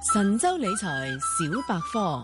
神州理財小百科。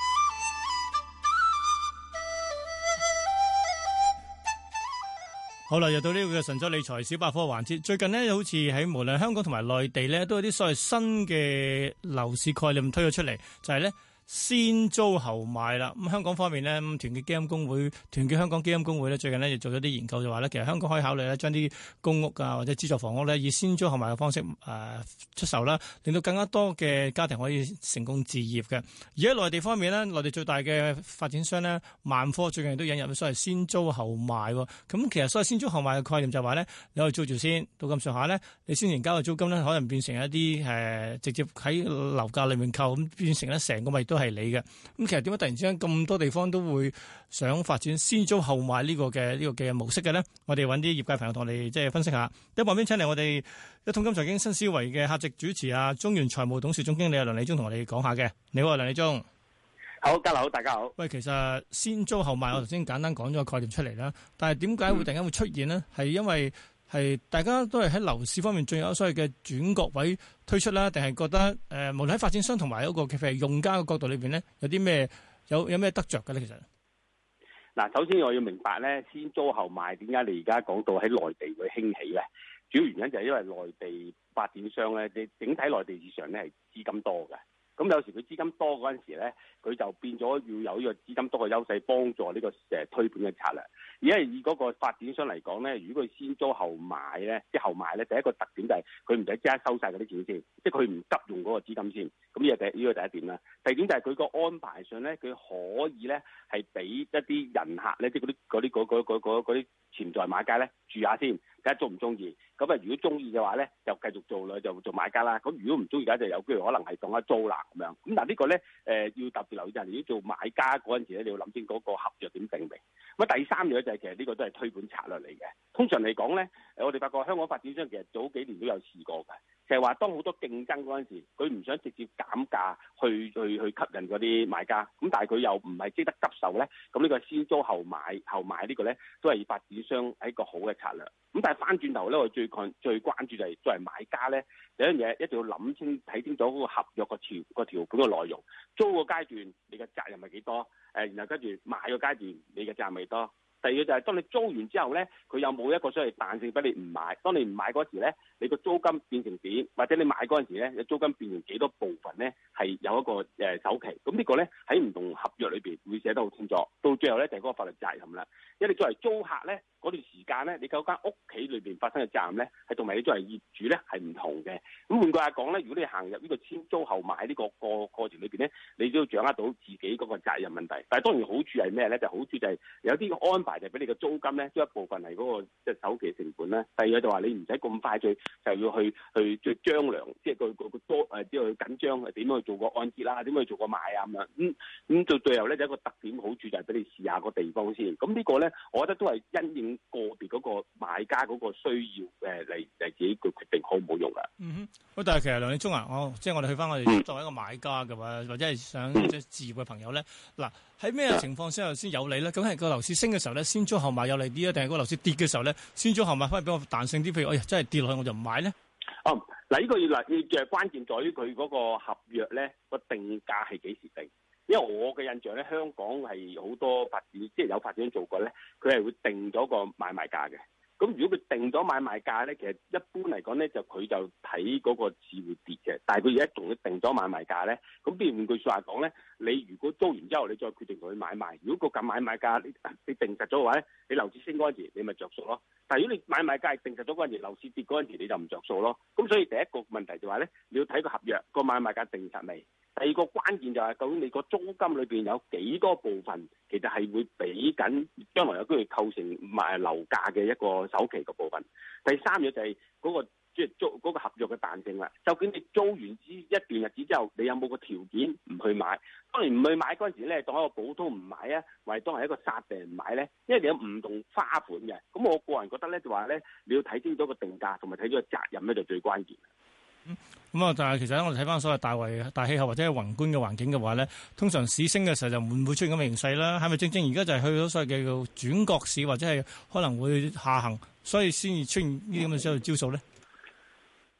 好啦，又到呢個嘅神州理財小百科環節。最近呢，好似喺無論香港同埋內地呢，都有啲所謂新嘅樓市概念推咗出嚟，就係呢。先租後買啦，咁香港方面呢，團結基金公會、團結香港基金公會呢，最近呢就做咗啲研究，就話呢，其實香港可以考慮呢，將啲公屋啊或者資助房屋呢，以先租後買嘅方式出售啦，令到更加多嘅家庭可以成功置業嘅。而喺內地方面呢，內地最大嘅發展商呢，萬科最近都引入咗所謂先租後買喎。咁其實所謂先租後買嘅概念就係話呢，你可以租住先，到咁上下呢，你先前交嘅租金呢，可能變成一啲直接喺樓價裏面扣，咁變成呢成個咪都係你嘅。咁其實點解突然之間咁多地方都會想發展先租後買呢個嘅模式嘅呢？我哋揾啲業界朋友同我哋即係分析下。喺旁邊請嚟我哋一桶金財經新思維嘅客席主持啊，中原財務董事總經理梁理中同我哋講下嘅。你好啊，梁理中。 好，家樓好，大家好。 喂，其實先租後買，我頭先簡單講咗個概念出嚟啦。但係點解會突然間會出現呢？係因為係大家都係喺樓市方面仲有所謂嘅轉角位推出啦，定係覺得無論喺發展商同埋一個譬如用家嘅角度裏邊咧，有啲咩有咩得着嘅咧？其實嗱，首先我要明白咧，先租後買點解你而家講到喺內地會興起咧？主要原因就係因為內地發展商咧，你整體內地市場咧係資金多嘅。咁有時佢資金多嗰陣時咧，佢就變咗要有呢個資金多嘅優勢，幫助呢個推盤嘅策略。而家以嗰個發展商嚟講咧，如果佢先租後買咧，即係後買咧，第一個特點就係佢唔使即刻收晒嗰啲錢先，即係佢唔急用嗰個資金先。咁呢個第一點啦。第二點就係佢個安排上咧，佢可以咧係俾一啲人客咧，即係嗰啲潛在買家咧住下先，睇下中唔中意。咁啊，如果中意嘅話咧，就繼續做啦，就做買家啦。咁如果唔中意嘅就有機會可能係當一租啦咁樣。咁嗱呢個咧要特別留意就係，如果做買家嗰陣時咧，你要諗清嗰個合約點定明。咁第三樣就係其實呢個都係推盤策略嚟嘅。通常嚟講咧，我哋發覺香港發展商其實早幾年都有試過嘅，就係話當好多競爭嗰陣時，佢唔想直接減價去吸引嗰啲買家，咁但係佢又唔係即得急售咧，咁呢個先租後買呢個咧都係發展商係一個好嘅策略。咁但係翻轉頭咧，我最關注就係作為買家咧，第一樣嘢一定要諗清睇清楚嗰個合約個條款嘅內容，租個階段你嘅責任係幾多？然後跟住買個階段你嘅責任係幾多？第二個就係當你租完之後咧，佢有冇一個所謂彈性俾你唔買？當你唔買嗰時咧，你個租金變成點？或者你買嗰陣時咧，你租金變成幾多部分咧？係有一個首期。咁呢個咧喺唔同合約裏邊會寫得好清楚。到最後咧就係嗰個法律責任啦。因為你作為租客咧，嗰段時間咧，你嗰間屋企裏邊發生嘅責任咧，係同埋你作為業主咧係唔同嘅。咁換句話講咧，如果你行入呢個先租後買呢個過程裏邊咧，你都要掌握到自己嗰個責任問題。但係當然好處係咩咧？就好處就係有啲安排就俾你嘅租金咧，都一部分係嗰個即係首期成本啦。第二個就話你唔使咁快就要去即係張良，即係個多即係緊張點樣去做個按揭啦，點樣去做個買啊咁樣。咁到最後咧，有一個特點好處就係俾你試下個地方先。咁呢個咧，我覺得都係因應個別嗰個買家嗰個需要嚟自己個決定好唔好用噶。 喂，但係其實梁理中啊，即係我哋去翻我哋作為一個買家嘅話，或者係想即係置業嘅朋友咧，嗱喺咩情況之下先有利咧？咁係個樓市升嘅時候咧，先租後買有利啲啊，定係個樓市跌嘅時候咧，先租後買反而比較彈性啲？譬如真係跌落去我就唔買咧。 嗱呢個要關鍵在於佢嗰個合約咧個定價係幾時定？因為我嘅印象咧，香港係好多發展，即係有發展做過咧，佢係會定咗個買賣價嘅。咁如果佢定咗買賣價咧，其實一般嚟講咧，佢就睇嗰個市會跌嘅。但係佢而家仲要定咗買賣價咧，咁變換句説話講咧，你如果租完之後，你再決定同佢買賣，如果個買賣價你定實咗嘅話咧，你樓市升嗰陣時，你咪着數咯。但係如果你買賣價係定實咗嗰陣時，樓市跌嗰陣時，你就唔着數咯。咁所以第一個問題就話咧，你要睇個合約個買賣價定實未？第二個關鍵就係究竟你個租金裏邊有幾多部分，其實係會俾緊將來有機會構成賣樓價嘅一個首期嘅部分。第三樣就係嗰個即係租嗰個合約嘅彈性啦。究竟你租完一段日子之後，你有冇個條件唔去買？當然唔去買嗰陣時咧，當一個普通唔買啊，或者當係一個殺病唔買咧，因為你有唔同花款嘅。咁我個人覺得咧，就話咧，你要睇清楚個定價同埋睇咗個責任咧，就最關鍵。 但係其實我哋睇翻所謂大氣候或者係宏觀嘅環境嘅話咧，通常市升嘅時候就唔會出現咁嘅形勢啦。係咪正而家就係去到所謂嘅叫轉角市，或者係可能會下行，所以先至出現呢啲咁嘅招數咧？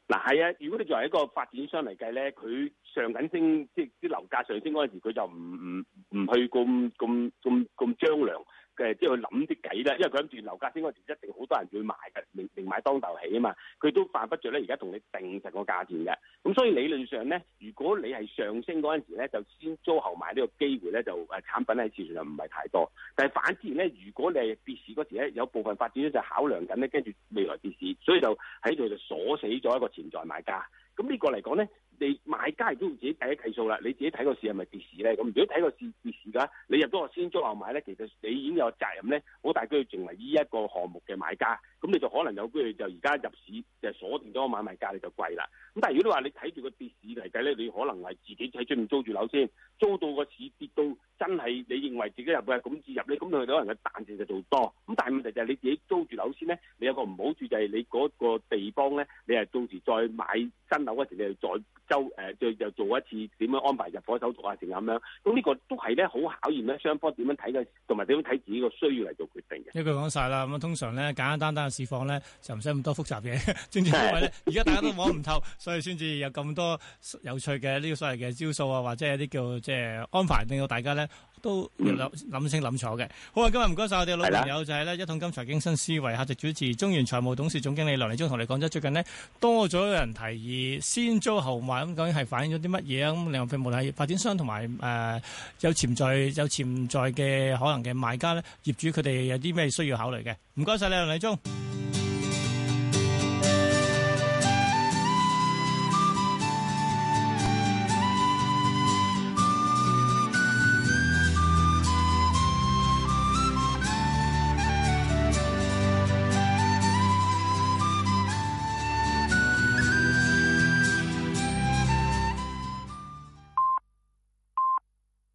嗱係啊，如果你作為一個發展商嚟計咧，佢上緊升，即係啲樓價上升嗰陣時，佢就唔去咁張良嘅，即係去諗啲計啦。因為佢諗住樓價升嗰陣時，一定好多人會買嘅，明買當頭起啊嘛。佢都犯不着咧，而家同你定實個價錢嘅。咁所以理論上咧，如果你係上升嗰陣時咧，就先租後買呢個機會咧，就產品喺市場上唔係太多。但係反之咧，如果你係跌市嗰時咧，有部分發展商就考量緊咧，跟住未來跌市，所以就喺度就鎖死咗一個潛在買家。咁呢個嚟講咧，你買家亦都要自己計一計數啦。你自己睇個市係咪跌市咧？咁如果睇個市跌市㗎，你入咗個先租後買咧，其實你已經有責任咧，好大機會成為呢一個項目嘅買家。咁你就可能有機會就而家入市就鎖定咗個買賣價，你就貴啦。咁但係如果你話你睇住個跌市嚟計咧，你可能係自己喺出面租住樓先，租到個市跌到真係你認為自己入嘅咁至入咧，咁佢可能嘅彈性就做多。咁但係問題就係你自己租住樓先咧，你有個唔好處就係你嗰個地方咧，你係到時再買新樓嗰時，你係再做一次點樣安排入伙手續啊，成咁樣。咁呢個都係咧好考驗咧雙方點樣睇嘅，同埋點樣睇自己個需要嚟做決定嘅。 一句講晒啦，咁通常咧簡簡單單嘅市況咧就唔使咁多複雜嘢，正正因為咧而家大家都摸唔透，所以先至有咁多有趣嘅呢個所謂嘅招數啊，或者係啲叫即係安排，令到大家咧都諗清諗楚嘅。好啊，今日唔該晒我哋嘅老朋友就係咧一統金財經新思維客席主持中原財務董事總經理梁理中同你講咗最近呢多咗人提議先租後買，咁究竟係反映咗啲乜嘢啊？咁另外無論係發展商同埋有潛在嘅可能嘅買家咧，業主佢哋有啲咩需要考慮嘅？唔該晒你梁理中。